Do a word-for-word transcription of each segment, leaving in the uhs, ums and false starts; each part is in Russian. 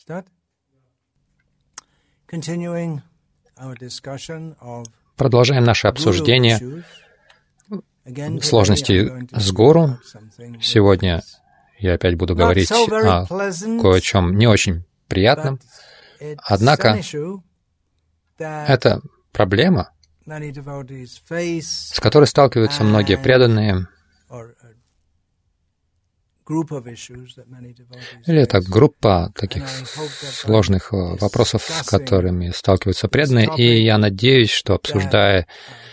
Продолжаем наше обсуждение сложностей с гуру. Сегодня я опять буду говорить о кое о чем не очень приятном. Однако это проблема, с которой сталкиваются многие преданные, или это группа таких сложных вопросов, с которыми сталкиваются преданные, и я надеюсь, что, обсуждая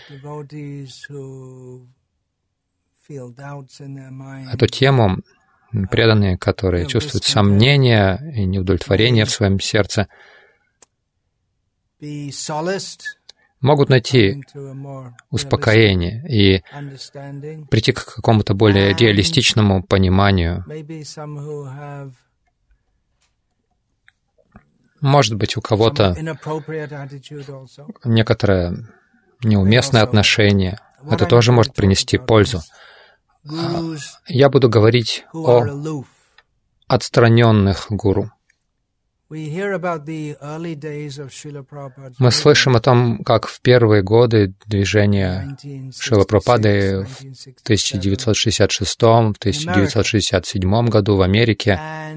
эту тему, преданные, которые чувствуют сомнения и неудовлетворение в своем сердце, могут найти успокоение и прийти к какому-то более реалистичному пониманию. Может быть, у кого-то некоторое неуместное отношение. Это тоже может принести пользу. Я буду говорить о отстраненных гуру. Мы слышим о том, как в первые годы движения Шрилы Прабхупады в тысяча девятьсот шестьдесят шестом — тысяча девятьсот шестьдесят седьмом году в Америке.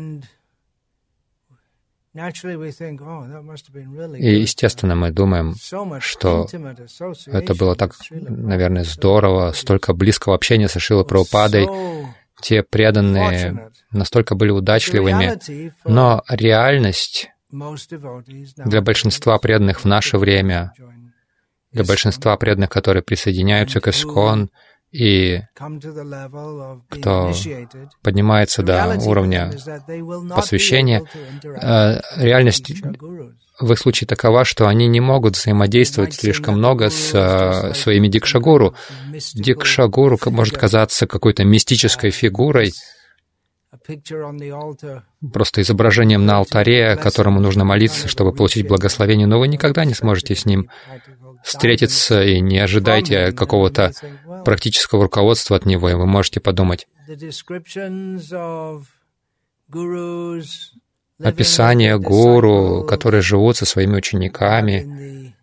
И, естественно, мы думаем, что это было так, наверное, здорово, столько близкого общения со Шрилой Прабхупадой. Те преданные настолько были удачливыми, но реальность для большинства преданных в наше время, для большинства преданных, которые присооединяются к ИСККОН и кто поднимается до уровня посвящения, реальность в их случае такова, что они не могут взаимодействовать слишком много с своими дикшагуру. Дикшагуру может казаться какой-то мистической фигурой, просто изображением на алтаре, которому нужно молиться, чтобы получить благословение, но вы никогда не сможете с ним встретиться и не ожидайте какого-то практического руководства от него, и вы можете подумать. Описание гуру, которые живут со своими учениками.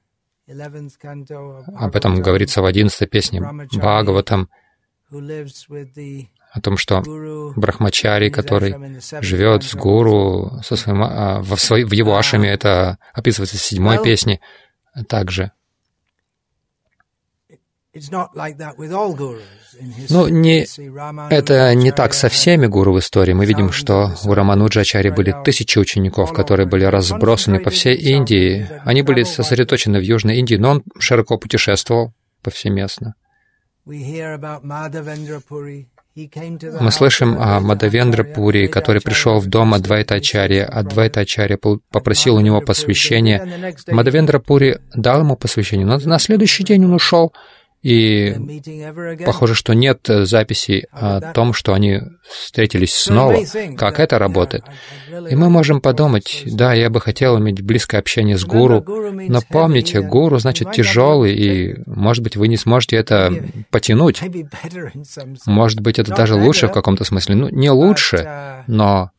Об этом говорится в одиннадцатой песне Бхагаватам, о том, что брахмачари, который живет с гуру, со своим, а, в, своей, в его ашраме, это описывается в седьмой песне также. Ну, не, это не так со всеми гуру в истории. Мы видим, что у Рамануджачари были тысячи учеников, которые были разбросаны по всей Индии. Они были сосредоточены в Южной Индии, но он широко путешествовал повсеместно. Мы слышим о Мадавендра-пури, который пришел в дом Адвайтачарьи. Адвайтачарья попросил у него посвящения. Мадавендра-пури дал ему посвящение, но на следующий день он ушел. И похоже, что нет записей о том, что они встретились снова, как это работает. И мы можем подумать, да, я бы хотел иметь близкое общение с гуру, но помните, гуру значит тяжелый, и, может быть, вы не сможете это потянуть. Может быть, это даже лучше в каком-то смысле. Ну, не лучше, но...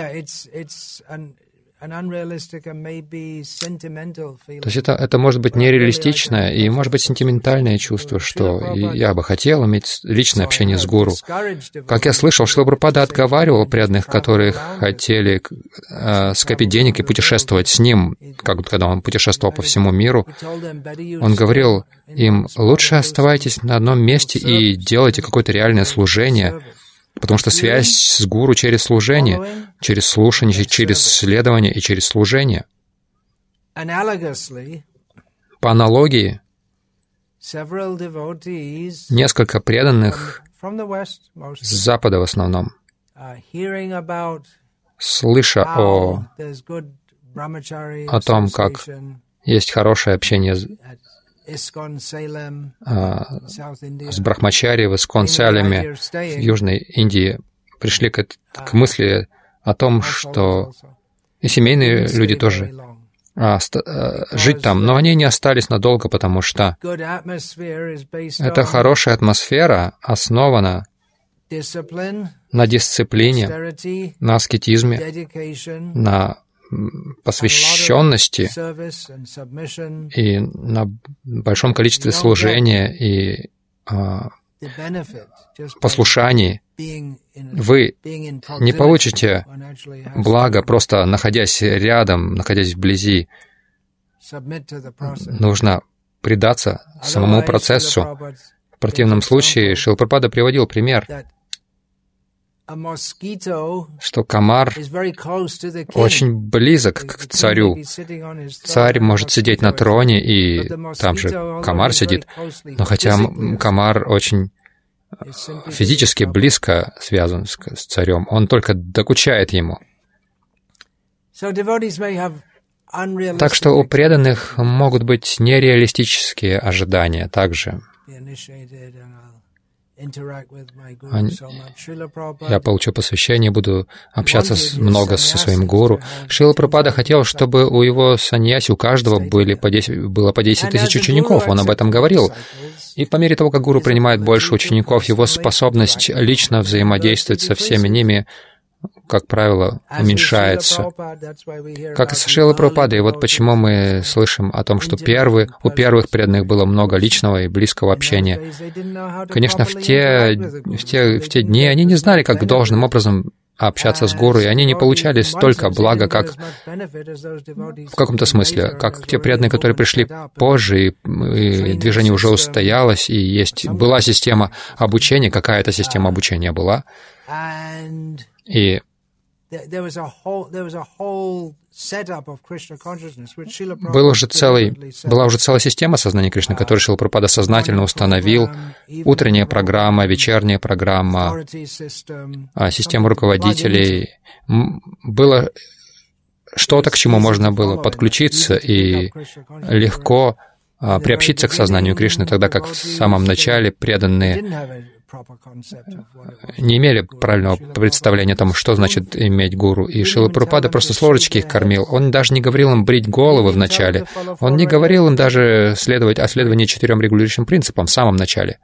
То есть это, это может быть нереалистичное и, может быть, сентиментальное чувство, что я бы хотел иметь личное общение с гуру. Как я слышал, Шрила Прабхупада отговаривал преданных, которые хотели э, скопить денег и путешествовать с ним, как, когда он путешествовал по всему миру. Он говорил им, лучше оставайтесь на одном месте и делайте какое-то реальное служение, потому что связь с гуру через служение, через слушание, через следование и через служение. По аналогии, несколько преданных с Запада в основном, слыша о, о том, как есть хорошее общение с брахмачари в ИСККОН Салеме в Южной Индии, пришли к, к мысли о том, что и семейные люди тоже а, ст, а, жить там, но они не остались надолго, потому что эта хорошая атмосфера основана на дисциплине, на аскетизме, на посвященности и на большом количестве служения и а, послушании, вы не получите благо, просто находясь рядом, находясь вблизи. Нужно предаться самому процессу. В противном случае Шрила Прабхупада приводил пример, что комар очень близок к царю. Царь может сидеть на троне, и там же комар сидит, но хотя комар очень физически близко связан с царем, он только докучает ему. Так что у преданных могут быть нереалистические ожидания также. Я получу посвящение, буду общаться с, много со своим гуру. Шрила Прабхупада хотел, чтобы у его саньяси, у каждого были по десять, было по десять тысяч учеников. Он об этом говорил. И по мере того, как гуру принимает больше учеников, его способность лично взаимодействовать со всеми ними, как правило, уменьшается. Как и со Шрилой Прабхупадой. И вот почему мы слышим о том, что первые, у первых преданных было много личного и близкого общения. Конечно, в те, в те, в те дни они не знали, как должным образом общаться с гуру, и они не получали столько блага, как в каком-то смысле, как те преданные, которые пришли позже, и, и движение уже устоялось, и есть, была система обучения, какая-то система обучения была. И был уже целый, была уже целая система сознания Кришны, которую Шрила Прабхупада сознательно установил. Утренняя программа, вечерняя программа, система руководителей. Было что-то, к чему можно было подключиться и легко приобщиться к сознанию Кришны, тогда как в самом начале преданные не имели правильного представления о том, что значит иметь гуру. И Шрила Прабхупада просто с ложечки их кормил. Он даже не говорил им брить головы в начале. Он не говорил им даже следовать о следовании четырем регулирующим принципам в самом начале.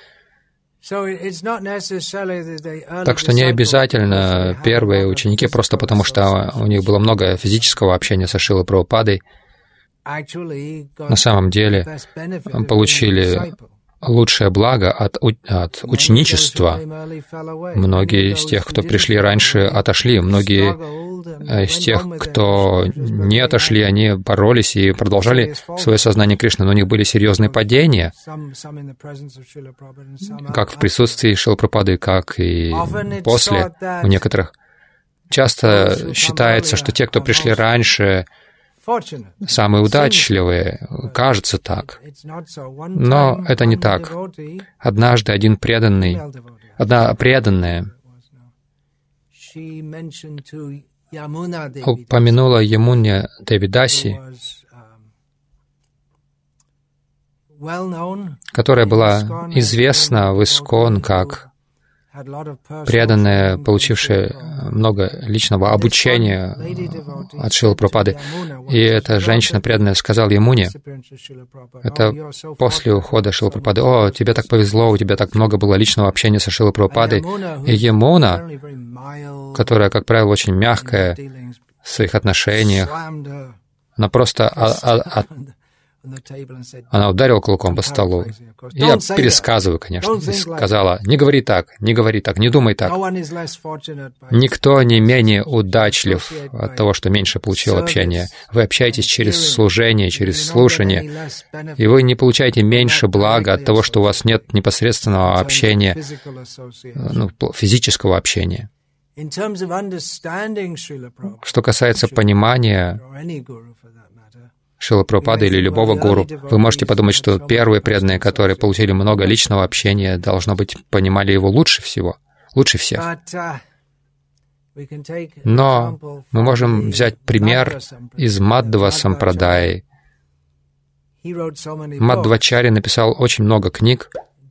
Так что не обязательно первые ученики, просто потому что у них было много физического общения со Шрилой Прабхупадой, на самом деле получили лучшее благо от, от ученичества. Многие из тех, кто пришли раньше, отошли. Многие из тех, кто не отошли, они боролись и продолжали свое сознание Кришны, но у них были серьезные падения, как в присутствии Шрилы Прабхупады, как и после у некоторых. Часто считается, что те, кто пришли раньше, самые удачливые, кажется так. Но это не так. Однажды один преданный, одна преданная упомянула Ямуне Девидаси, которая была известна в Искон как преданная, получившая много личного обучения от Шрилы Прабхупады. И эта женщина преданная сказала Ямуне, это после ухода Шрилы Прабхупады: «О, тебе так повезло, у тебя так много было личного общения со Шрилой Прабхупадой». И Ямуна, которая, как правило, очень мягкая в своих отношениях, она просто от, Она ударила кулаком по столу. Я пересказываю, конечно, и сказала: «Не говори так, не говори так, не думай так. Никто не менее удачлив от того, что меньше получил общения. Вы общаетесь через служение, через слушание, и вы не получаете меньше блага от того, что у вас нет непосредственного общения, ну, физического общения». Что касается понимания Шрилы Прабхупады или любого гуру, вы можете подумать, что первые преданные, которые получили много личного общения, должно быть, понимали его лучше всего, лучше всех. Но мы можем взять пример из Мадхва Сампрадаи. Мадхвачарья написал очень много книг.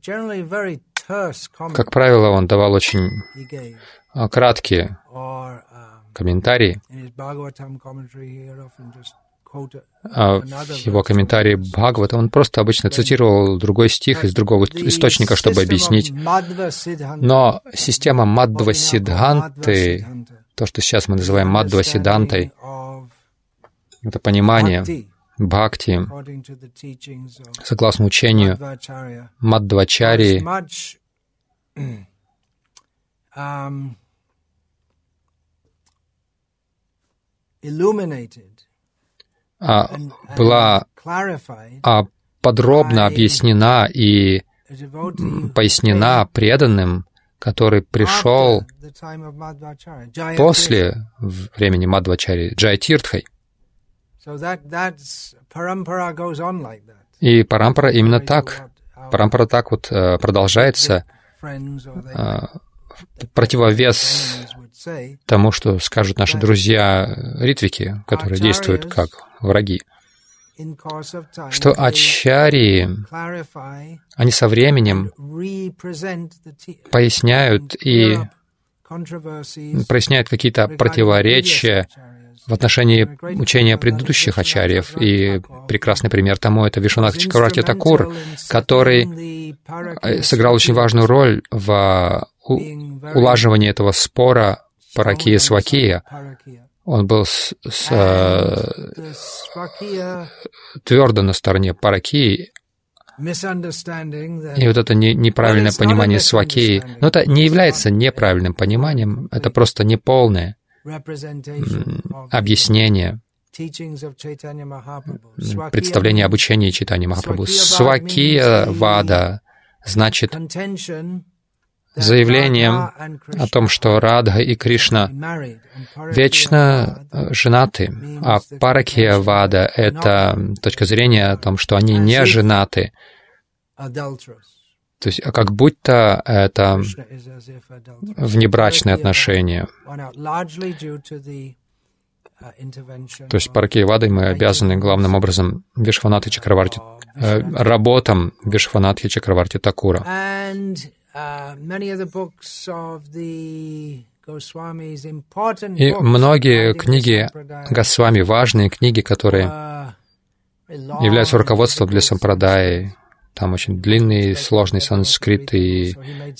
Как правило, он давал очень краткие комментарии. А в его комментарии Бхагавата он просто обычно цитировал другой стих из другого источника, чтобы объяснить. Но система Мадхва Сиддханты, то, что сейчас мы называем Мадхва Сиддхантой, это понимание бхакти, согласно учению Мадхвачарьи, была подробно объяснена и пояснена преданным, который пришел после времени Мадхвачарьи, Джаятиртхой. И парампара именно так. Парампара так вот продолжается, противовес тому, что скажут наши друзья ритвики, которые действуют как враги, что ачарьи, они со временем поясняют и проясняют какие-то противоречия в отношении учения предыдущих ачарьев. И прекрасный пример тому — это Вишванатха Чакраварти Такур, который сыграл очень важную роль в улаживании этого спора Паракия-Свакия. Он был с, с, твердо на стороне Паракии. И вот это не, неправильное понимание Свакии, но это не является неправильным пониманием, это просто неполное объяснение, представление об учении Чайтаньи Махапрабху. Свакия вада значит заявлением о том, что Радха и Кришна вечно женаты, а Паракия вада — это точка зрения о том, что они не женаты. То есть как будто это внебрачные отношения. То есть Паракия вадой мы обязаны главным образом Вишванатхи Чакраварти, э, работам Вишванатхи Чакраварти Такура. И многие книги Госвами, важные книги, которые являются руководством для сампрадаи. Там очень длинный, сложный санскрит, и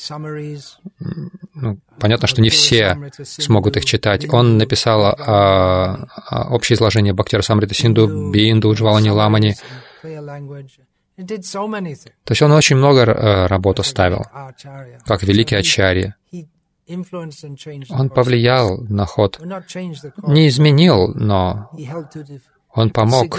ну, понятно, что не все смогут их читать. Он написал а, а, общее изложение Бхактирасамрита Синду, Бинду, Уджвалани Ламани. То есть он очень много работ оставил, как великий ачарья. Он повлиял на ход, не изменил, но он помог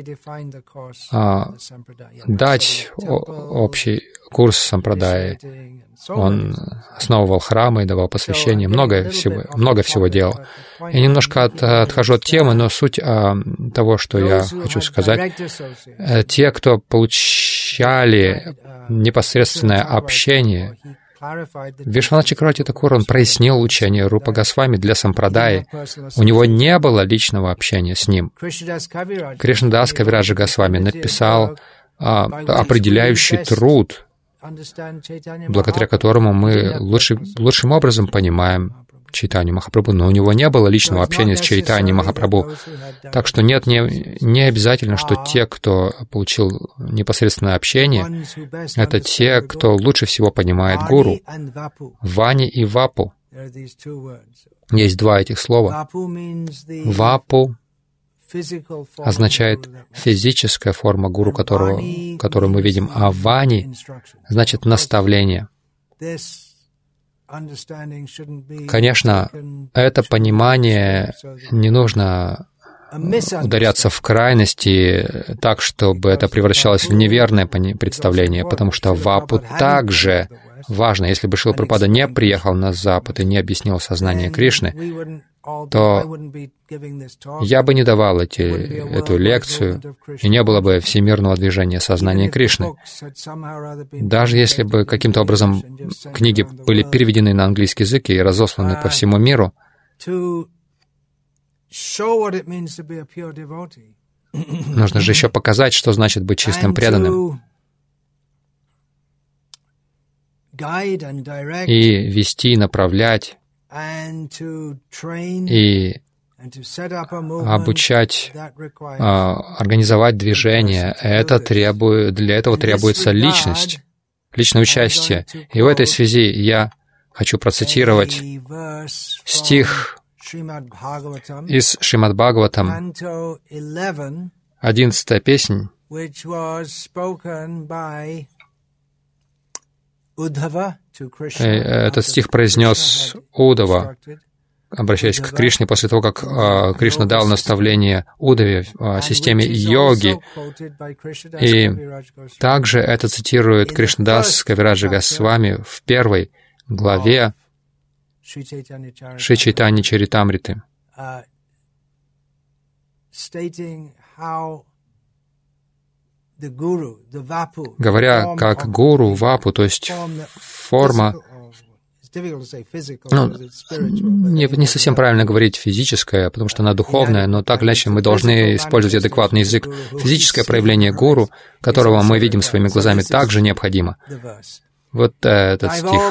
а, дать общий курс сампрадаи. Он основывал храмы и давал посвящение, много всего, много всего делал. Я немножко от, отхожу от темы, но суть а, того, что я хочу сказать, те, кто получали непосредственное общение, Вишванатха Чакраварти Такур, он прояснил учение Рупа Госвами для сампрадаи. У него не было личного общения с ним. Кришнадас Кавираджа Госвами написал а, определяющий труд, благодаря которому мы лучший, лучшим образом понимаем Чайтанью Махапрабху, но у него не было личного общения с Чайтаньей Махапрабху. Так что нет, не, не обязательно, что те, кто получил непосредственное общение, это те, кто лучше всего понимает Гуру. Вани и Вапу. Есть два этих слова. Вапу означает физическая форма Гуру, которого, которую мы видим, а Вани значит наставление. Конечно, это понимание не нужно ударяться в крайности так, чтобы это превращалось в неверное представление, потому что Вапу также важно. Если бы Шрила Прабхупада не приехал на Запад и не объяснил сознание Кришны, то я бы не давал эти, эту лекцию, и не было бы всемирного движения сознания Кришны. Даже если бы каким-то образом книги были переведены на английский язык и разосланы по всему миру, нужно же еще показать, что значит быть чистым преданным, и вести, направлять, и обучать, организовать движение. Это требует, для этого требуется личность, личное участие. И в этой связи я хочу процитировать стих из Шримад Бхагаватам, одиннадцатая песнь, этот стих произнес Уддхава, обращаясь к Кришне после того, как э, Кришна дал наставление Уддхаве о системе йоги. И также это цитирует Кришнадас Кавираджа Госвами в первой главе Шри Чайтанья Чаритамриты, говоря как гуру, вапу, то есть форма, ну, не, не совсем правильно говорить физическое, потому что она духовная, но так или иначе мы должны использовать адекватный язык. Физическое проявление гуру, которого мы видим своими глазами, также необходимо. Вот э, этот стих.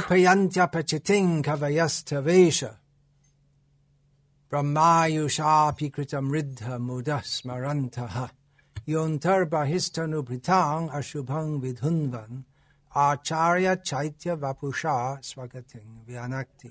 Acharya Chaitya Vapusha Swagating Vyanakti.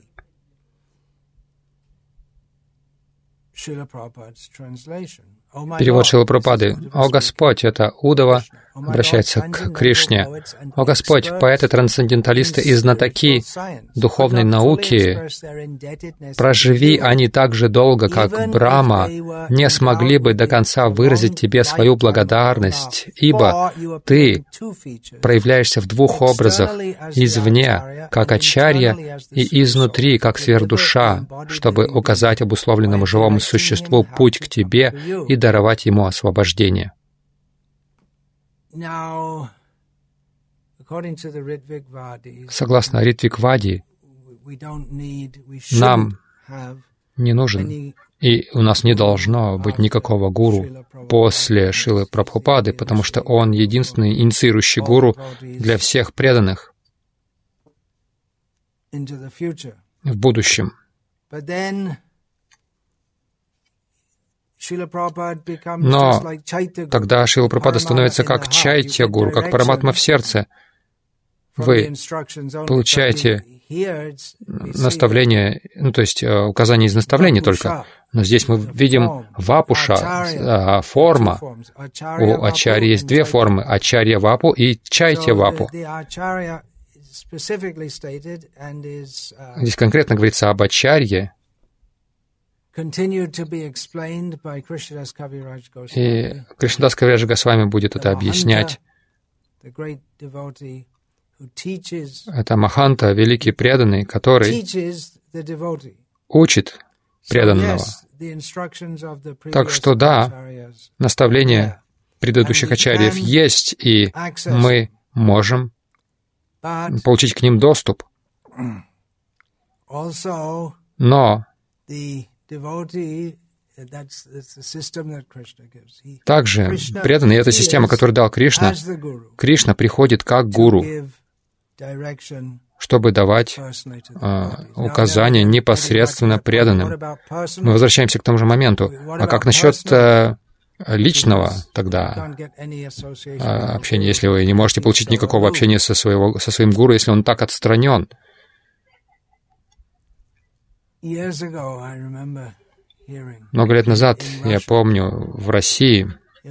Srila Prabhupada's translation. Перевод Шрилы Прабхупады. «О Господь!» — это Уддхава обращается к Кришне. «О Господь! Поэты, трансценденталисты и знатоки духовной науки, проживи они так же долго, как Брахма, не смогли бы до конца выразить Тебе свою благодарность, ибо Ты проявляешься в двух образах, извне, как Ачарья, и изнутри, как сверхдуша, чтобы указать обусловленному живому существу путь к Тебе и даровать ему освобождение». Согласно Ритвигвади, нам не нужен, и у нас не должно быть никакого гуру после Шрилы Прабхупады, потому что он единственный инициирующий гуру для всех преданных в будущем. Но тогда Шрила Прабхупада становится как Чайтья Гуру, как Параматма в сердце. Вы получаете наставление, ну, то есть указания из наставлений только. Но здесь мы видим Вапуша, форма. У Ачарьи есть две формы — Ачарья Вапу и Чайтья Вапу. Здесь конкретно говорится об Ачарье. И Кришнадас Кавирадж Госвами будет это объяснять. Это Маханта, великий преданный, который учит преданного. Так что да, наставления предыдущих ачарьев есть, и мы можем получить к ним доступ. Но также преданный — это система, которую дал Кришна. Кришна приходит как гуру, чтобы давать э, указания непосредственно преданным. Мы возвращаемся к тому же моменту. А как насчет э, личного тогда э, общения, если вы не можете получить никакого общения со, своего, со своим гуру, если он так отстранен? Много лет назад, я помню, в России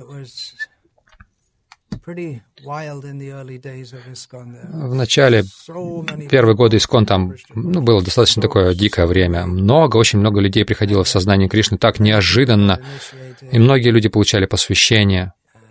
в начале, первые годы Искон, там ну, было достаточно такое дикое время. Много, очень много людей приходило в сознание Кришны так неожиданно, и многие люди получали посвящение.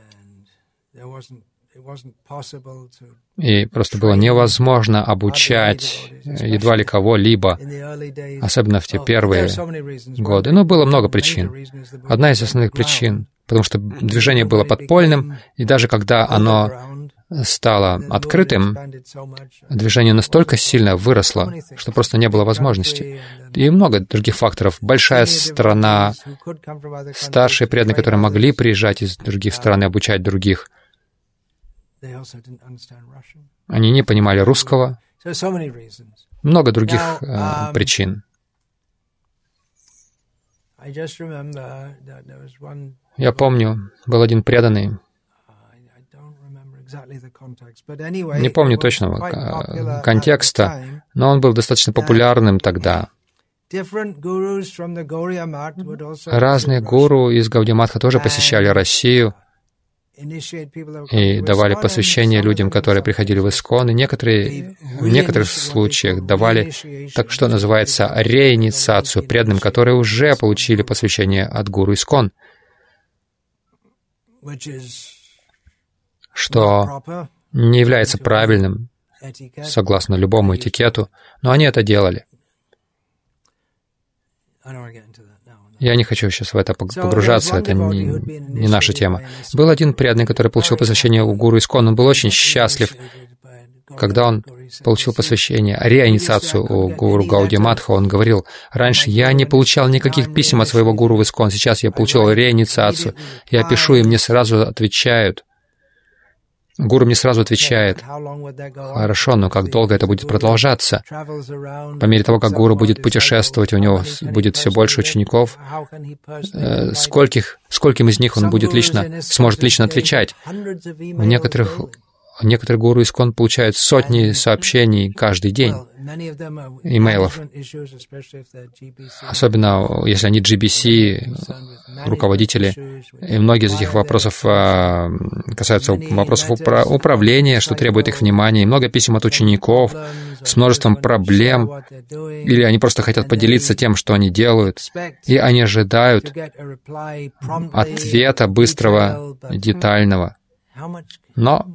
И просто было невозможно обучать едва ли кого-либо, особенно в те первые годы. Но было много причин. Одна из основных причин, потому что движение было подпольным, и даже когда оно стало открытым, движение настолько сильно выросло, что просто не было возможности. И много других факторов. Большая страна, старшие преданные, которые могли приезжать из других стран и обучать других, они не понимали русского. Много других э, причин. Я помню, был один преданный, не помню точного контекста, но он был достаточно популярным тогда. Разные гуру из Гаудия-матха тоже посещали Россию и давали посвящение людям, которые приходили в ИСККОН, и некоторые, в некоторых случаях давали, так что называется, реинициацию преданным, которые уже получили посвящение от гуру ИСККОН, что не является правильным, согласно любому этикету, но они это делали. Я не хочу сейчас в это погружаться, это не, не наша тема. Был один преданный, который получил посвящение у гуру ИСККОН. Он был очень счастлив, когда он получил посвящение, реинициацию у гуру Гаудия-матха. Он говорил: раньше я не получал никаких писем от своего гуру в ИСККОН, сейчас я получил реинициацию. Я пишу, и мне сразу отвечают. Гуру мне сразу отвечает: хорошо, но как долго это будет продолжаться? По мере того, как гуру будет путешествовать, у него будет все больше учеников. Скольких, скольким из них он будет лично, сможет лично отвечать? У некоторых, некоторые гуру ИСККОН получают сотни сообщений каждый день, имейлов. Особенно, если они джи би си, руководители. И многие из этих вопросов касаются вопросов упра- управления, что требует их внимания. И много писем от учеников с множеством проблем. Или они просто хотят поделиться тем, что они делают. И они ожидают ответа быстрого, детального. Но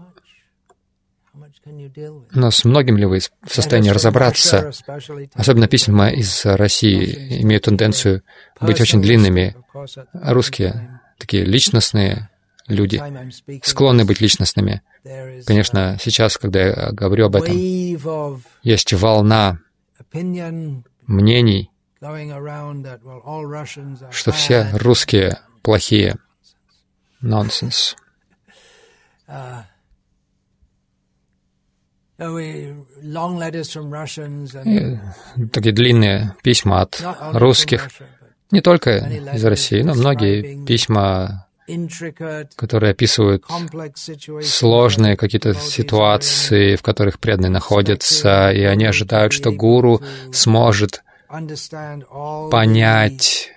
Но с многим ли вы в состоянии разобраться? Особенно письма из России имеют тенденцию быть очень длинными. Русские, такие личностные люди, склонны быть личностными. Конечно, сейчас, когда я говорю об этом, есть волна мнений, что все русские плохие. Нонсенс. Такие длинные письма от русских, не только из России, но многие письма, которые описывают сложные какие-то ситуации, в которых преданные находятся, и они ожидают, что гуру сможет понять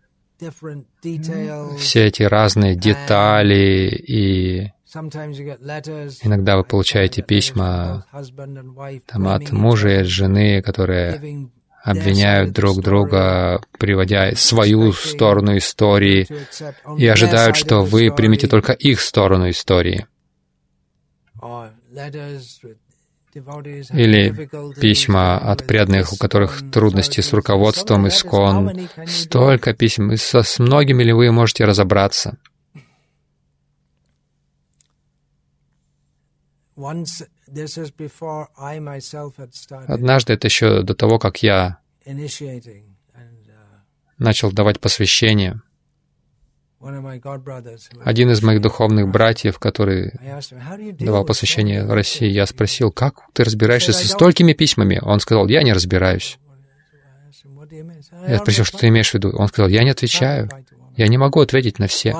все эти разные детали, и иногда вы получаете письма там, от мужа и от жены, которые обвиняют друг друга, приводя свою сторону истории, и ожидают, что вы примете только их сторону истории. Или письма от преданных, у которых трудности с руководством ИСККОН. Столько писем, и со, с многими ли вы можете разобраться? Однажды, это еще до того, как я начал давать посвящение, один из моих духовных братьев, который давал посвящение в России, я спросил: как ты разбираешься со столькими письмами? Он сказал: я не разбираюсь. Я спросил: что ты имеешь в виду? Он сказал: я не отвечаю. Я не могу ответить на все.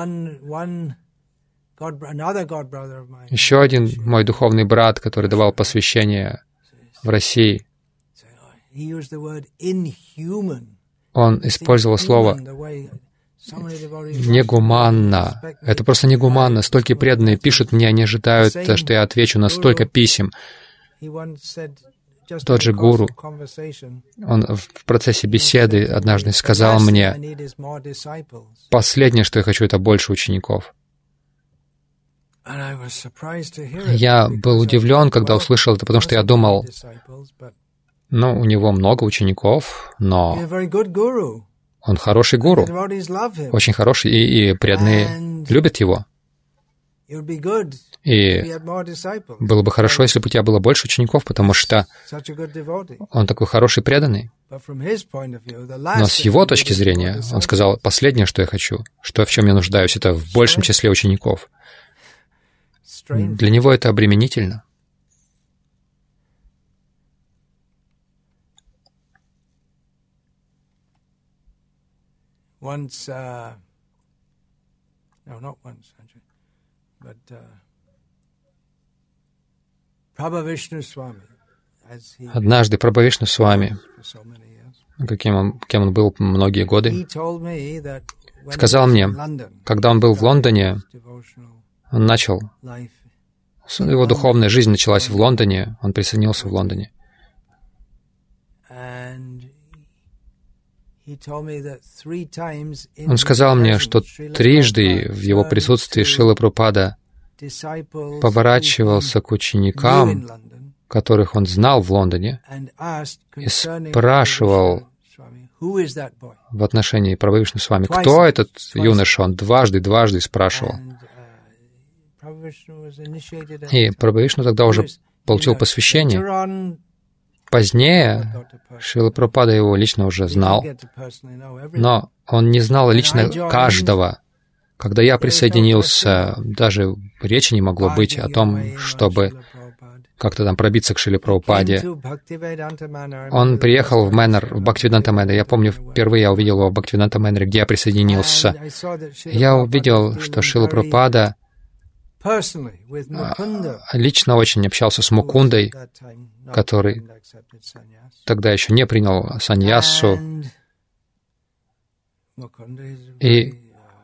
Еще один мой духовный брат, который давал посвящение в России, он использовал слово «негуманно». Это просто негуманно. Столько преданные пишут мне, они ожидают, что я отвечу на столько писем. Тот же гуру, он в процессе беседы однажды сказал мне: «Последнее, что я хочу, это больше учеников». Я был удивлен, когда услышал это, потому что я думал, ну, у него много учеников, но он хороший гуру, очень хороший, и, и преданные любят его. И было бы хорошо, если бы у тебя было больше учеников, потому что он такой хороший преданный. Но с его точки зрения, он сказал: последнее, что я хочу, что в чем я нуждаюсь, это в большем числе учеников. Для него это обременительно. Once, uh, no, not once, actually, but uh, Prabhavishnu Swami, as he Однажды Прабхавишну Свами, каким он, кем он был многие годы, сказал мне, когда он был в Лондоне, он начал, его духовная жизнь началась в Лондоне, он присоединился в Лондоне. Он сказал мне, что трижды в его присутствии Шрила Прабхупада поворачивался к ученикам, которых он знал в Лондоне, и спрашивал в отношении Прабхавишну с вами, кто этот юноша? Он дважды, дважды спрашивал. И Прабхавишну тогда уже получил посвящение. Позднее Шрила Прабхупада его лично уже знал, но он не знал лично каждого. Когда я присоединился, даже речи не могло быть о том, чтобы как-то там пробиться к Шриле Прабхупаде. Он приехал в Мэннер, в Бхактивиданта Мэннер. Я помню, впервые я увидел его в Бхактивиданта Мэннере, где я присоединился. Я увидел, что Шрила Прабхупада лично очень общался с Мукундой, который тогда еще не принял саньясу. И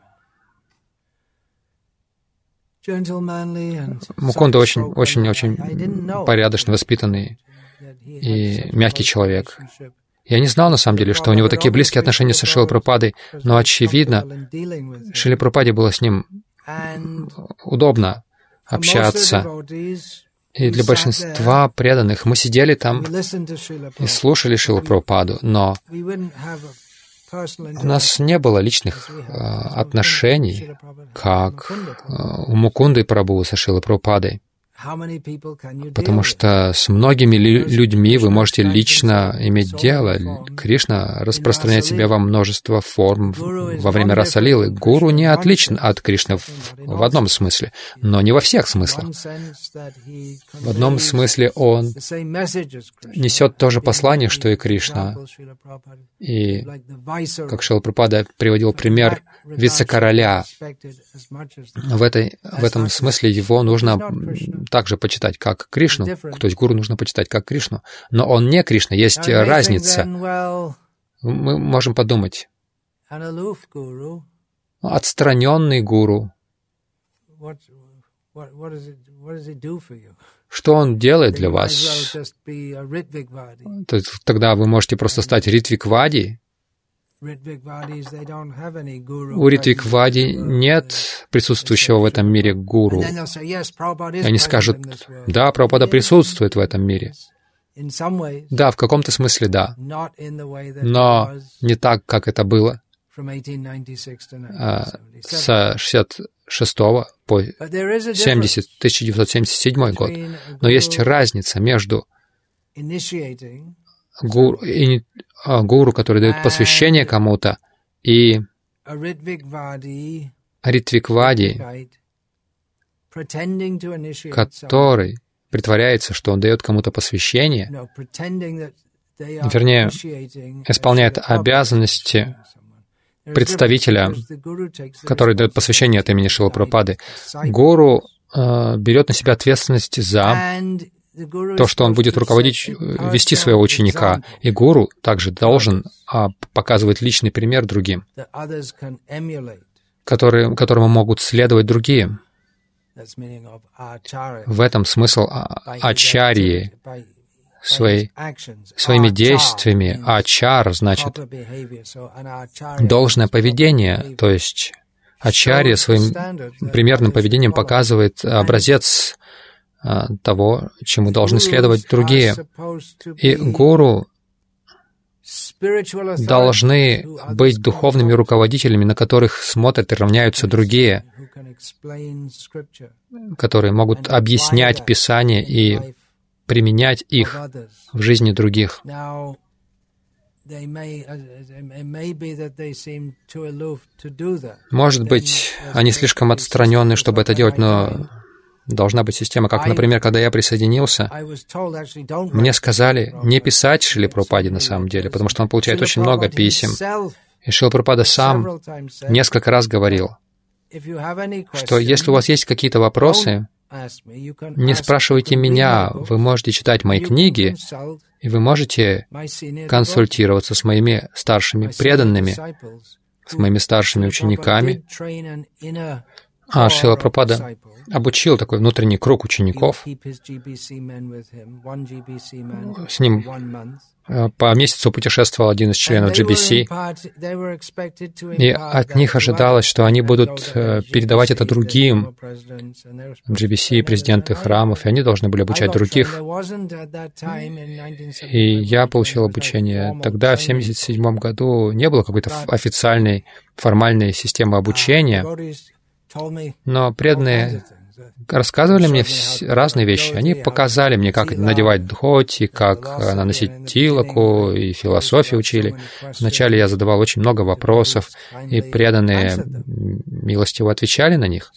Мукунда очень, очень, очень порядочно воспитанный и мягкий человек. Я не знал, на самом деле, что у него такие близкие отношения со Шрилой Прабхупадой, но, очевидно, Шриле Прабхупаде было с ним удобно общаться. И для большинства преданных мы сидели там и слушали Шрилу Прабхупаду, но у нас не было личных э, отношений, как э, у Мукунды Прабху со Шрилой Прабхупадой. Потому что с многими людьми вы можете лично иметь дело. Кришна распространяет себя во множество форм во время Расалилы. Гуру не отличен от Кришны в, в одном смысле, но не во всех смыслах. В одном смысле он несет то же послание, что и Кришна. И, как Шрила Прабхупада приводил пример вице-короля, в, этой, в этом смысле его нужно также почитать как Кришну, то есть гуру нужно почитать как Кришну, но он не Кришна, есть разница. Мы можем подумать, отстраненный гуру, что он делает для вас? То есть тогда вы можете просто стать Ритвиквади. У Ритвиквади нет присутствующего в этом мире гуру. И они скажут, да, Прабхупада присутствует в этом мире. Да, в каком-то смысле да, но не так, как это было с шестьдесят шестого по семьдесят, тысяча девятьсот семьдесят седьмой год. Но есть разница между гуру, и, а, гуру, который дает посвящение кому-то, и Ритвиквади, который притворяется, что он дает кому-то посвящение, вернее, исполняет обязанности представителя, который дает посвящение от имени Шрилы Прабхупады. Гуру э, берет на себя ответственность за то, что он будет руководить, вести своего ученика. И гуру также должен а, показывать личный пример другим, которые, которому могут следовать другие. В этом смысл ачарьи. Своей, своими действиями. Ачар значит должное поведение, то есть ачарья своим примерным поведением показывает образец а, того, чему должны следовать другие. И гуру должны быть духовными руководителями, на которых смотрят и равняются другие, которые могут объяснять Писание и применять их в жизни других. Может быть, они слишком отстранены, чтобы это делать, но должна быть система. Как, например, когда я присоединился, мне сказали не писать Шриле Прабхупаде на самом деле, потому что он получает очень много писем. И Шрила Прабхупада сам несколько раз говорил, что если у вас есть какие-то вопросы, Не спрашивайте меня, вы можете читать мои книги, и вы можете консультироваться с моими старшими преданными, с моими старшими учениками. А Шрила Прабхупада обучил такой внутренний круг учеников. С ним по месяцу путешествовал один из членов джи би си, и от них ожидалось, что они будут передавать это другим. джи би си, президенты храмов, и они должны были обучать других. И я получил обучение. Тогда, в семьдесят седьмом году, не было какой-то официальной, формальной системы обучения, но преданные рассказывали мне разные вещи. Они показали мне, как надевать дхоти, как наносить тилаку, и философию учили. Вначале я задавал очень много вопросов, и преданные милостиво отвечали на них.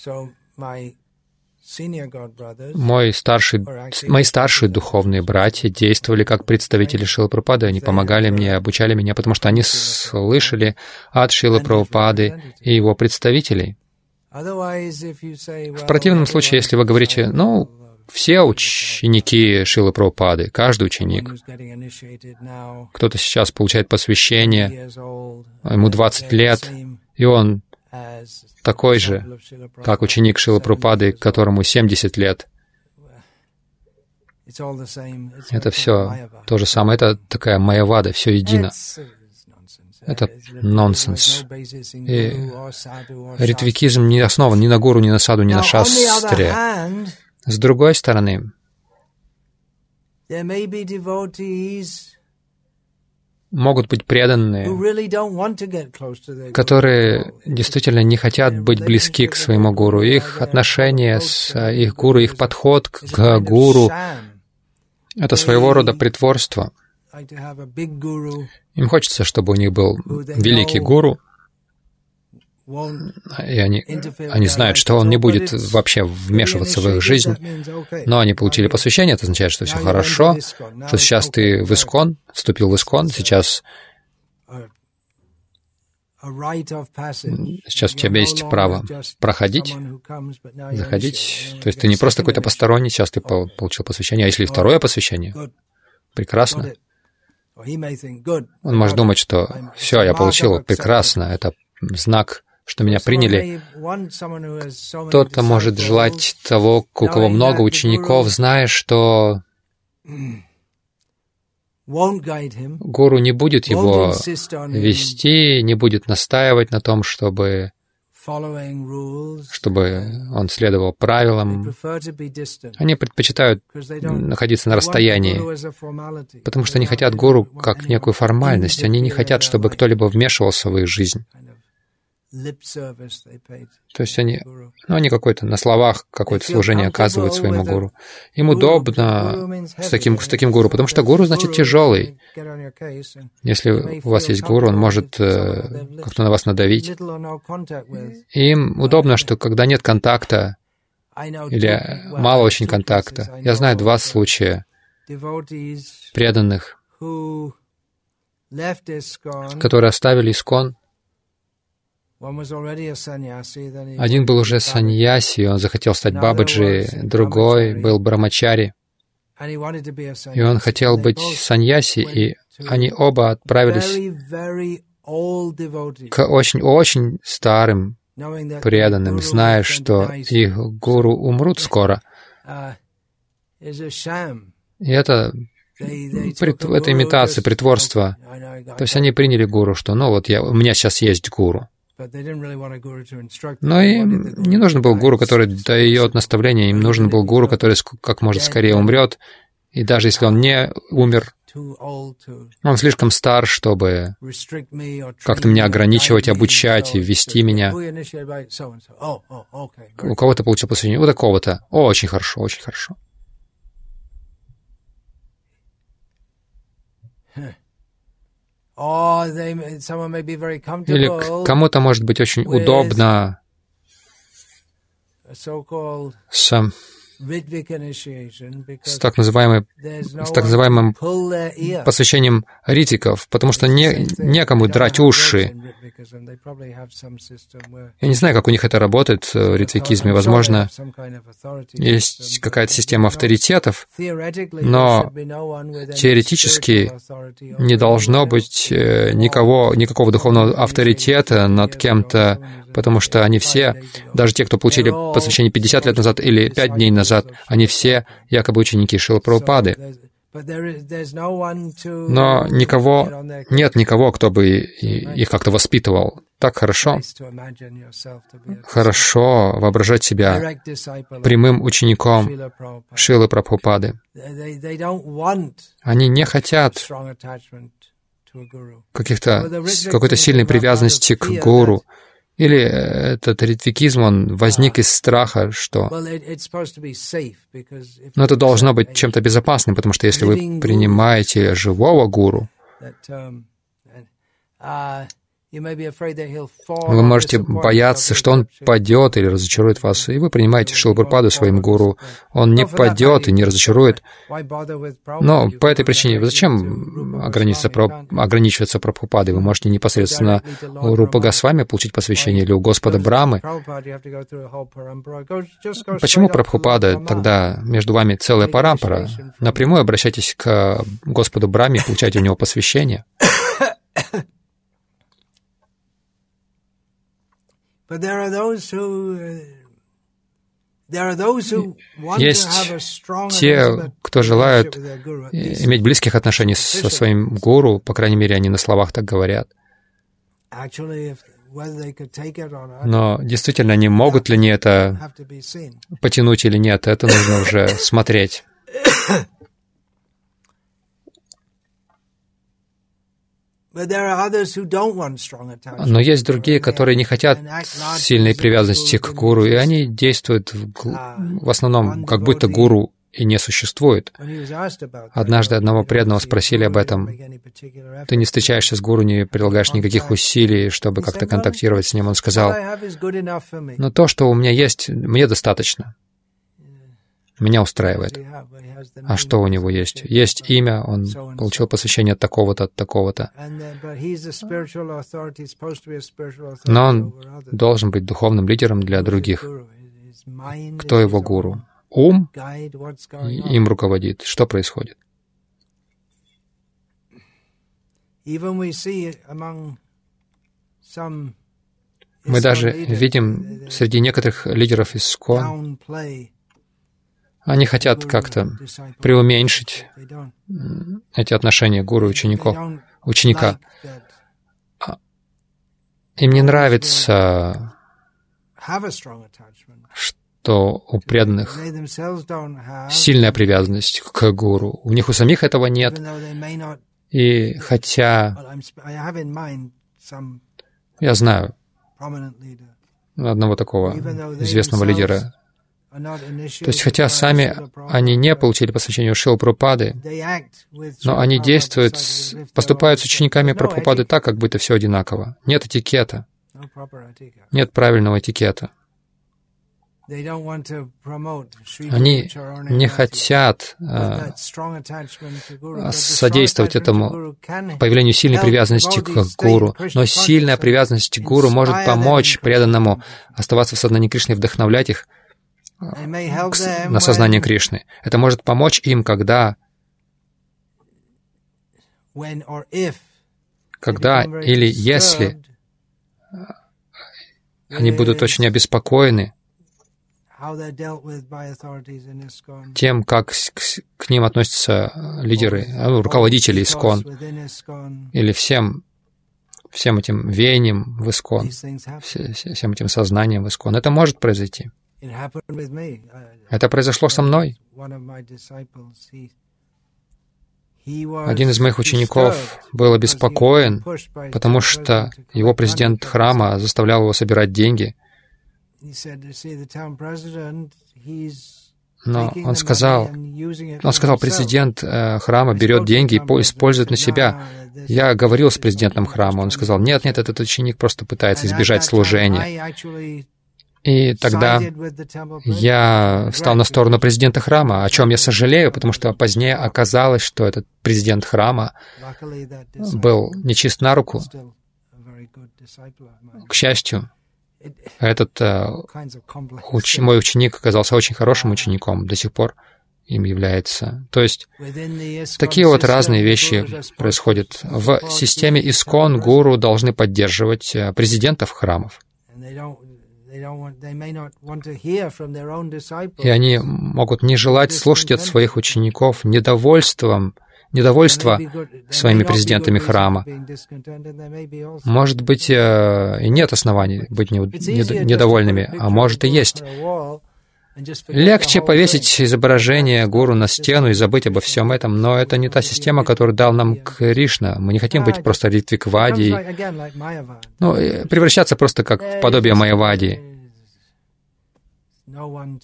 Мой старший, мои старшие духовные братья действовали как представители Шрилы Прабхупады. Они помогали мне, обучали меня, потому что они слышали от Шрилы Прабхупады и его представителей. В противном случае, если вы говорите, ну, все ученики Шрилы Прабхупады, каждый ученик, кто-то сейчас получает посвящение, ему двадцать лет, и он такой же, как ученик Шрилы Прабхупады, которому семьдесят лет. Это все то же самое, это такая майявада, все едино. Это нонсенс. И ритвикизм не основан ни на гуру, ни на саду, ни на шастре. С другой стороны, могут быть преданные, которые действительно не хотят быть близки к своему гуру. Их отношения с их гуру, их подход к гуру — это своего рода притворство. Им хочется, чтобы у них был великий гуру, и они, они знают, что он не будет вообще вмешиваться в их жизнь, но они получили посвящение, это означает, что все хорошо, что сейчас ты в Искон, вступил в Искон, сейчас, сейчас у тебя есть право проходить, заходить, то есть ты не просто какой-то посторонний, сейчас ты получил посвящение, а если второе посвящение, прекрасно. Он может думать, что все, я получил, прекрасно, это знак, что меня приняли. Кто-то может желать того, у кого много учеников, зная, что гуру не будет его вести, не будет настаивать на том, чтобы чтобы он следовал правилам. Они предпочитают находиться на расстоянии, потому что они хотят гуру как некую формальность. Они не хотят, чтобы кто-либо вмешивался в их жизнь. То есть они, ну, они какое-то на словах какое-то служение оказывают своему гуру. Им удобно с таким, с таким гуру, потому что гуру значит тяжелый. Если у вас есть гуру, он может э, как-то на вас надавить. И им удобно, что когда нет контакта или мало очень контакта. Я знаю два случая преданных, которые оставили Искон. Один был уже саньяси, он захотел стать бабаджи, другой был брамачари, и он хотел быть саньяси, и они оба отправились к очень-очень старым преданным, зная, что их гуру умрут скоро. И это, это имитация, притворство. То есть они приняли гуру, что ну вот я, у меня сейчас есть гуру. Но им не нужен был гуру, который дает наставления, им нужен был гуру, который как можно скорее умрет, и даже если он не умер, он слишком стар, чтобы как-то меня ограничивать, обучать и вести меня. У кого-то получил посвящение, у такого-то. О, очень хорошо, очень хорошо. Или кому-то может быть очень удобно с с так, называемой, с так называемым посвящением ритвиков, потому что не, некому драть уши. Я не знаю, как у них это работает в ритвикизме. Возможно, есть какая-то система авторитетов, но теоретически не должно быть никого, никакого духовного авторитета над кем-то, потому что они все, даже те, кто получили посвящение пятьдесят лет назад или пять дней назад, они все якобы ученики Шрилы Прабхупады. Но никого, нет никого, кто бы их как-то воспитывал. Так хорошо. Хорошо воображать себя прямым учеником Шрилы Прабхупады. Они не хотят каких-то, какой-то сильной привязанности к гуру. Или этот ритвикизм, он возник из страха, что... Но это должно быть чем-то безопасным, потому что если вы принимаете живого гуру, вы можете бояться, что он падет или разочарует вас, и вы принимаете Шрилу Прабхупаду своим гуру. Он не падет и не разочарует. Но по этой причине зачем ограничиваться, ограничиваться Прабхупадой? Вы можете непосредственно у Рупы Госвами получить посвящение или у Господа Брамы. Почему Прабхупада? Тогда между вами целая парампара. Напрямую обращайтесь к Господу Браме, получайте у него посвящение. Есть те, кто желают иметь близких отношений со своим гуру, по крайней мере, они на словах так говорят. Но действительно, они могут ли они это потянуть или нет, это нужно уже смотреть. Но есть другие, которые не хотят сильной привязанности к гуру, и они действуют в, в основном, как будто гуру и не существует. Однажды одного преданного спросили об этом. Ты не встречаешься с гуру, не прилагаешь никаких усилий, чтобы как-то контактировать с ним. Он сказал, но то, что у меня есть, мне достаточно. Меня устраивает. А что у него есть? Есть имя, он получил посвящение от такого-то, от такого-то. Но он должен быть духовным лидером для других. Кто его гуру? Ум им руководит. Что происходит? Мы даже видим среди некоторых лидеров ИСККОН, они хотят как-то преуменьшить эти отношения гуру и учеников, ученика. Им не нравится, что у преданных сильная привязанность к гуру. У них у самих этого нет. И хотя я знаю одного такого известного лидера, то есть, хотя сами они не получили посвящение у Шрилы Прабхупады, но они действуют, поступают с учениками Прабхупады так, как будто все одинаково. Нет этикета. Нет правильного этикета. Они не хотят э, содействовать этому появлению сильной привязанности к гуру, но сильная привязанность к гуру может помочь преданному оставаться в сознании Кришны и вдохновлять их на сознание Кришны. Это может помочь им, когда, когда или если они будут очень обеспокоены тем, как к, к ним относятся лидеры, руководители ИСККОН, или всем, всем этим веянием в ИСККОН, всем этим сознанием в ИСККОН. Это может произойти. Это произошло со мной. Один из моих учеников был обеспокоен, потому что его президент храма заставлял его собирать деньги. Но он сказал, он сказал, президент э, храма берет деньги и использует на себя. Я говорил с президентом храма, он сказал, нет, нет, этот ученик просто пытается избежать служения. И тогда я стал на сторону президента храма, о чем я сожалею, потому что позднее оказалось, что этот президент храма был нечист на руку. К счастью, этот уч... мой ученик оказался очень хорошим учеником, до сих пор им является. То есть такие вот разные вещи происходят. В системе Искон гуру должны поддерживать президентов храмов. И они могут не желать слушать от своих учеников недовольством, недовольство своими президентами храма. Может быть, и нет оснований быть недовольными, а может и есть. Легче повесить изображение гуру на стену и забыть обо всем этом, но это не та система, которую дал нам Кришна. Мы не хотим быть просто Ритвиквади, ну, превращаться просто как в подобие Майявади. Ну,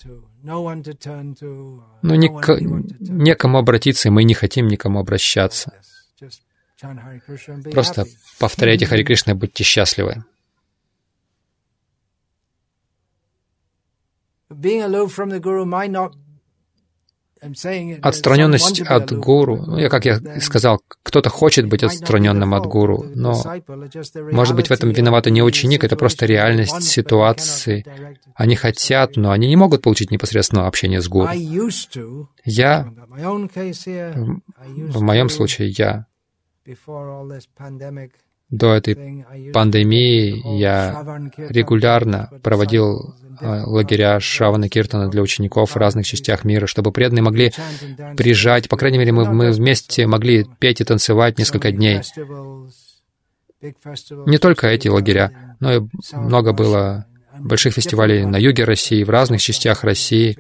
ник- некому обратиться, и мы не хотим никому обращаться. Просто повторяйте Хари Кришна и будьте счастливы. Отстраненность от гуру, ну, я, как я сказал, кто-то хочет быть отстраненным от гуру, но, может быть, в этом виноват не ученик, это просто реальность ситуации. Они хотят, но они не могут получить непосредственного общения с гуру. Я, в моем случае, я до этой пандемии я регулярно проводил лагеря Шравана Киртана для учеников в разных частях мира, чтобы преданные могли приезжать. По крайней мере, мы, мы вместе могли петь и танцевать несколько дней. Не только эти лагеря, но и много было больших фестивалей на юге России, в разных частях России,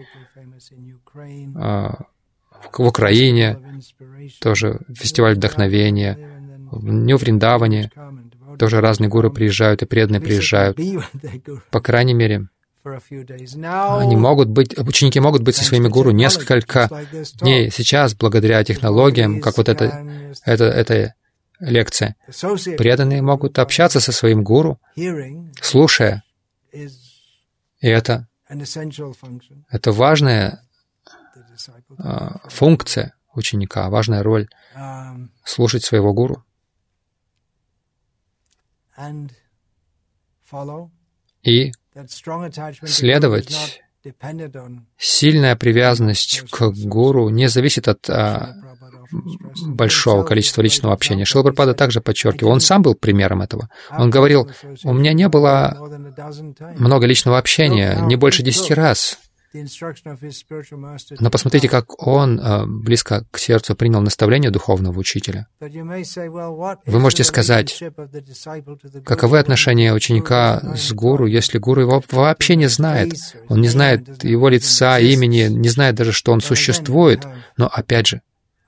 в Украине, тоже фестиваль вдохновения, в Нью-Вриндаване тоже разные гуру приезжают, и преданные приезжают. По крайней мере, они могут быть, ученики могут быть со своими гуру несколько дней. Сейчас, благодаря технологиям, как вот эта, эта, эта лекция, преданные могут общаться со своим гуру, слушая. И это, это важная а, функция ученика, важная роль — слушать своего гуру и следовать. Сильная привязанность к гуру не зависит от а, большого количества личного общения. Шрила Прабхупада также подчеркивал, он сам был примером этого. Он говорил, у меня не было много личного общения, не больше десяти раз. Но посмотрите, как он э, близко к сердцу принял наставление духовного учителя. Вы можете сказать, каковы отношения ученика с гуру, если гуру его вообще не знает. Он не знает его лица, имени, не знает даже, что он существует. Но опять же,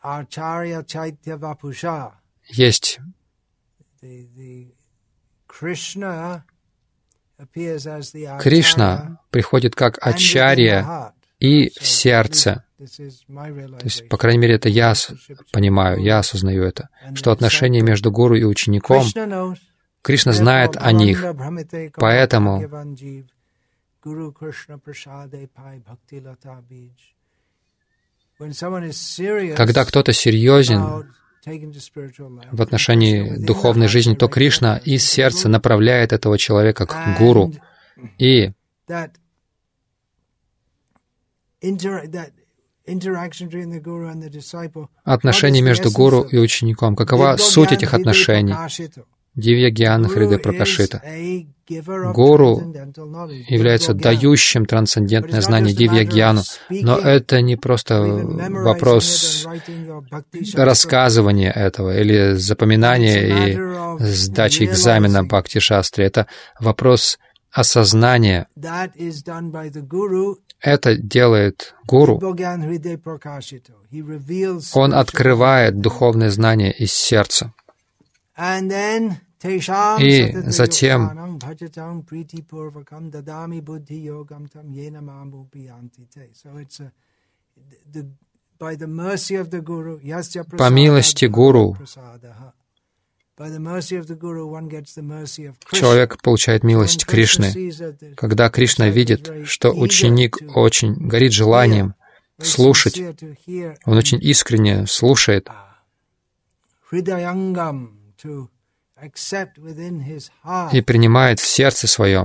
есть Кришна приходит как ачарья и в сердце. То есть, по крайней мере, это я понимаю, я осознаю это, что отношения между гуру и учеником, Кришна знает о них, поэтому когда кто-то серьезен в отношении духовной жизни, то Кришна из сердца направляет этого человека к гуру. И отношения между гуру и учеником. Какова суть этих отношений? Дивья Гьяна Хридай Пракашита. Гуру является дающим трансцендентное знание Дивья Гьяну, но это не просто вопрос рассказывания этого или запоминания и сдачи экзамена Бхакти-шастре. Это вопрос осознания. Это делает гуру. Он открывает духовное знание из сердца. И затем по милости гуру человек получает милость Кришны. Когда Кришна видит, что ученик очень горит желанием слушать, он очень искренне слушает, и принимает в сердце своем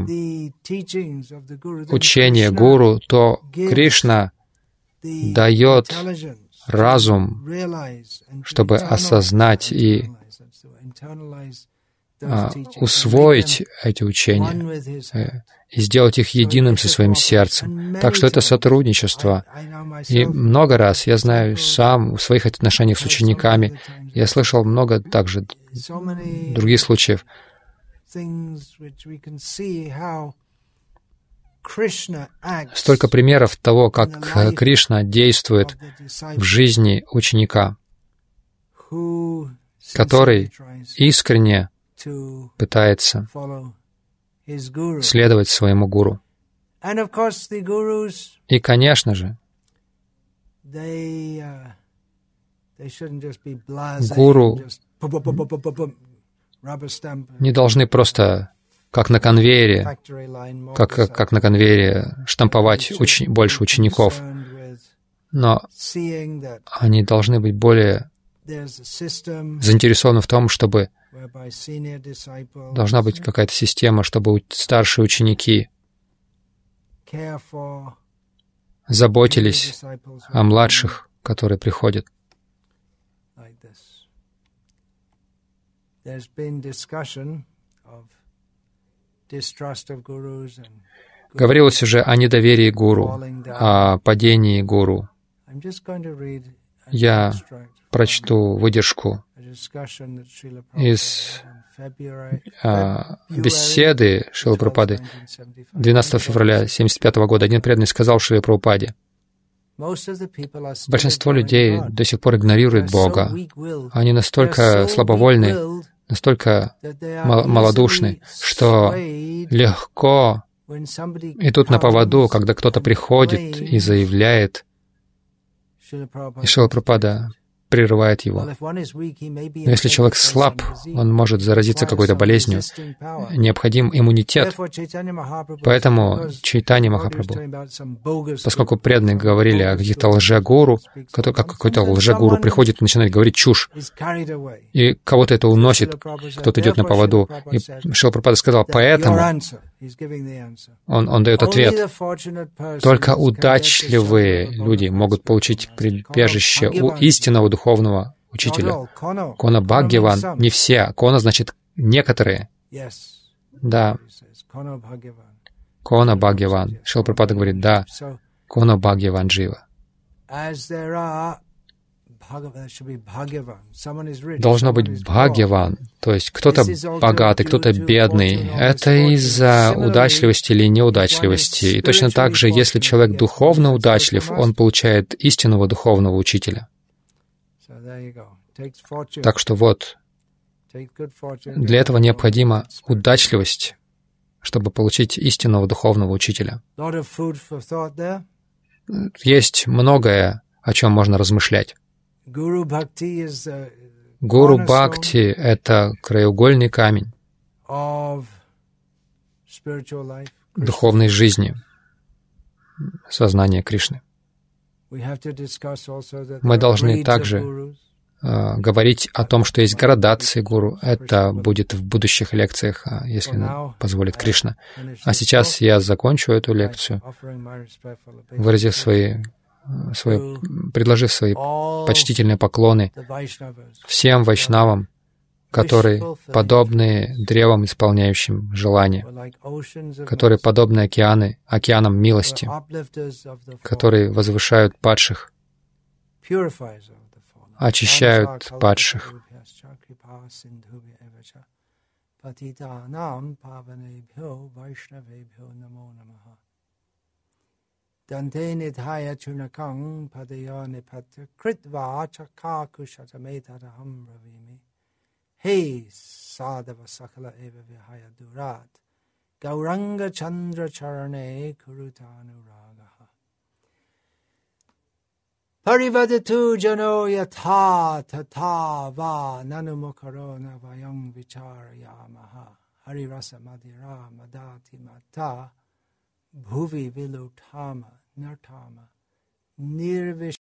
учение Гуру, то Кришна дает разум, чтобы осознать и а, усвоить эти учения э, и сделать их единым со своим сердцем. Так что это сотрудничество. И много раз, я знаю сам, в своих отношениях с учениками, я слышал много также других случаев, столько примеров того, как Кришна действует в жизни ученика, который искренне пытается следовать своему гуру. И, конечно же, гуру не должны просто, как на конвейере, как, как на конвейере штамповать уч, больше учеников, но они должны быть более заинтересованы в том, чтобы должна быть какая-то система, чтобы старшие ученики заботились о младших, которые приходят. Говорилось уже о недоверии гуру, о падении гуру. Я прочту выдержку из а, беседы Шрилы Прабхупады двенадцатого февраля тысяча девятьсот семьдесят пятого года. Один преданный сказал Шриле Прабхупаде: большинство людей до сих пор игнорируют Бога. Они настолько слабовольны, настолько мал- малодушны, что легко идут на поводу, когда кто-то приходит и заявляет, и Шрила Прабхупада прерывает его. Но если человек слаб, он может заразиться какой-то болезнью. Необходим иммунитет. Поэтому Чайтанья Махапрабху, поскольку преданные говорили о каких-то лжегуру, как какой-то лжегуру приходит и начинает говорить чушь, и кого-то это уносит, кто-то идет на поводу. И Шрила Прабхупада сказал, поэтому он, он дает ответ. Только удачливые люди могут получить прибежище у истинного духовного учителя. Кона Бхагьяван, не все. Кона значит некоторые. Да. Кона Бхагьяван. Шрила Прабхупада говорит, да. Кона Бхагьяван Джива. Должно быть Бхагьяван, то есть кто-то богатый, кто-то бедный. Это из-за удачливости или неудачливости. И точно так же, если человек духовно удачлив, он получает истинного духовного учителя. Так что вот, для этого необходима удачливость, чтобы получить истинного духовного учителя. Есть многое, о чем можно размышлять. Гуру Бхакти — это краеугольный камень духовной жизни, сознания Кришны. Мы должны также э, говорить о том, что есть градации гуру. Это будет в будущих лекциях, если позволит Кришна. А сейчас я закончу эту лекцию, выразив свои Свои, предложив свои почтительные поклоны всем вайшнавам, которые подобны древам, исполняющим желания, которые подобны океаны, океанам милости, которые возвышают падших, очищают падших. Dante nithaya chunakang padaya nipatya kritva chakaku shatametadaham bravimi. Hey sadhava sakala eva vihaya durat. Gauranga chandra charane kurutanuragaha. Parivadatu jano yatha tata va nanumukaro navayam vicharayamaha. Harirasa madhira madati mata bhuvi vilutama nartama nirvish